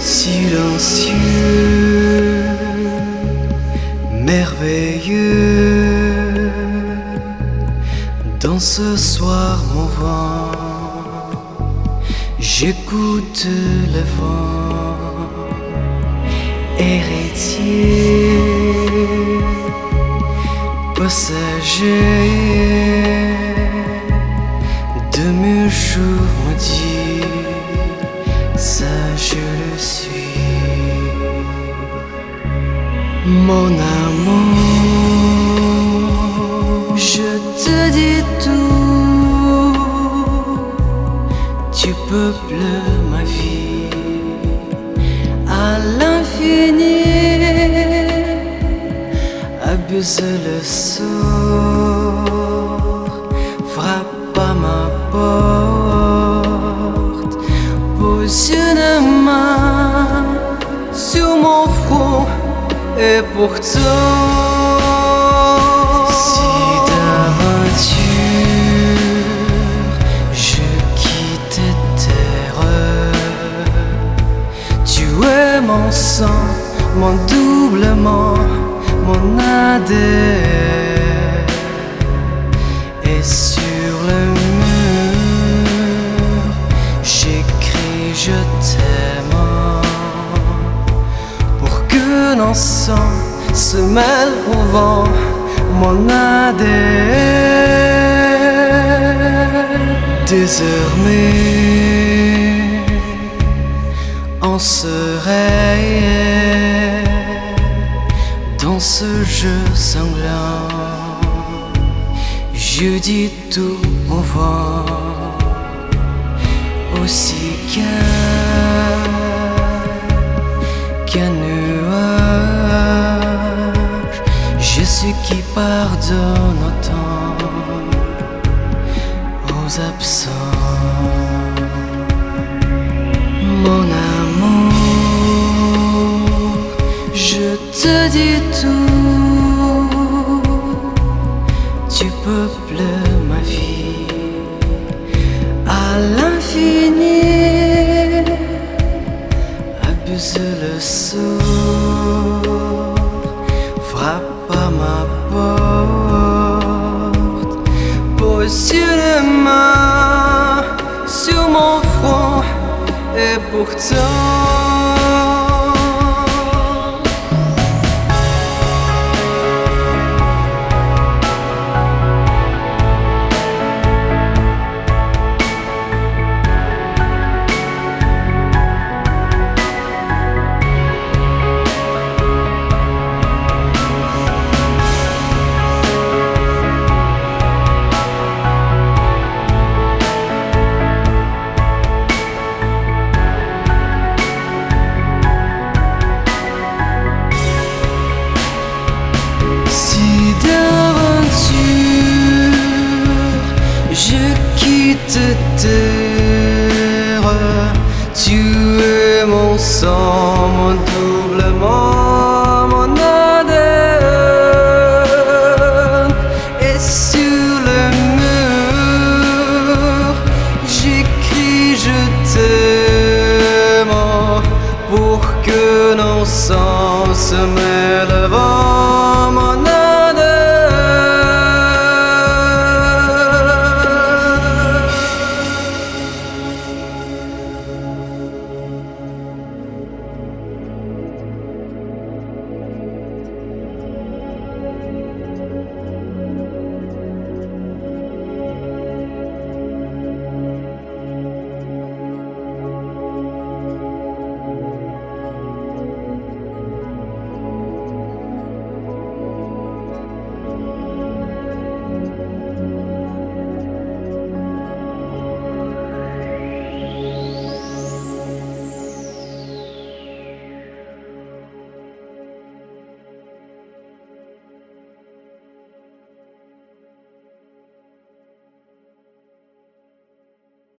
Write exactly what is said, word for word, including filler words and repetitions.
silencieux, merveilleux. Dans ce soir mon vent, j'écoute le vent, héritier, passager de mes jours maudits, ça je le suis. Mon amour, je te dis tout, tu peuples ma vie à l'infini. Abuse le sort, frappe à ma porte, pose une main sur mon front et pourtant, si d'aventure je quitte terre, tu es mon sang, mon doublement, mon adhère. Et sur le mur j'écris je t'aime, pour que nos sangs se mêlent au vent, mon adhère. Désormais on se réveille dans ce jeu sanglant. Je dis tout au vent, aussi qu'un qu'un nuage. Je suis qui pardonne autant aux absents. Mon amour, je te dis tout, tu peuples ma vie à l'infini. Abuse le sort, frappe à ma porte, pose une main sur mon front et pourtant, je quitte terre, tu es mon sang, mon doublement, mon adhère. Et sur le mur j'écris je t'aime, pour que nos sangs se mêlent